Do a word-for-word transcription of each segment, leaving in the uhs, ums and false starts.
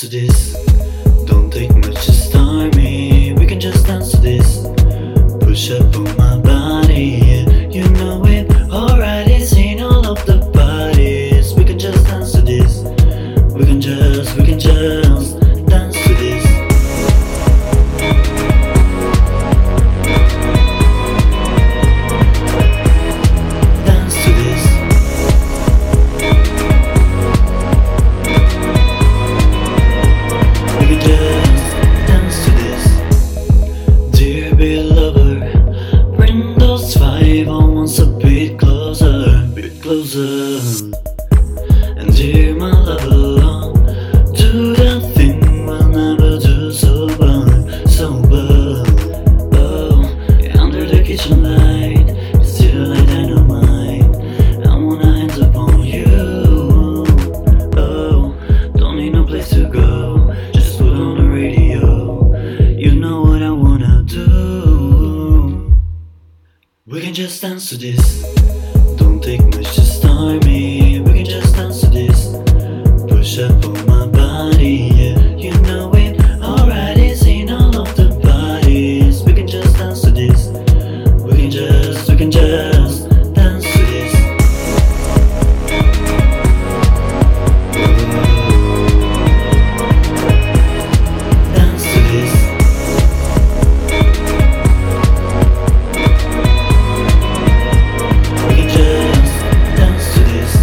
to this. Don't take much to start me. We can just dance to this. Push up on my body, yeah, you know it. Alright, seen all of the bodies. We can just dance to this. We can just, we can just dance to this. Dance to this. We can just dance to this. Dear beloved, bring those five on once a bit closer, bit closer. And dear my lover, do that thing we'll never do sober, sober. Oh, under the kitchen light, it's still like dynamite. I wanna hands upon you. Oh, don't need no place to go, just put on the radio. You know what I wanna do. We can just dance to this. Don't take much to start me. We can just dance to this. Push up on my body, yeah, you know it. Alright, seen all of the bodies. We can just dance to this. We can just, we can just dance to this. Dance to this. We can just dance to this.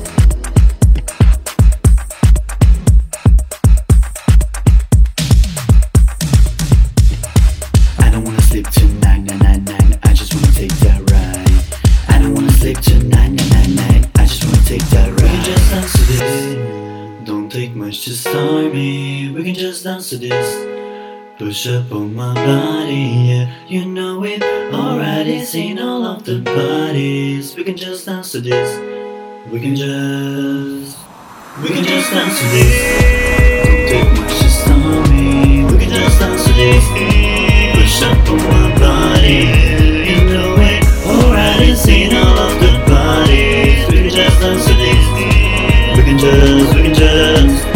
I don't wanna sleep tonight, night, night, night. I just wanna take that ride. I don't wanna sleep tonight, night, night, night. I just wanna take that ride. We can just dance to this. Don't take much to start me. We can just dance to this. Push up on my body, yeah, you know it. Already seen all of the bodies. We can just dance to this. We can just, we can just dance to this. Don't take much to start me. We can just dance to this. Push up on my body, you know it. Already seen all of the bodies. We can just dance to this. We can just, we can just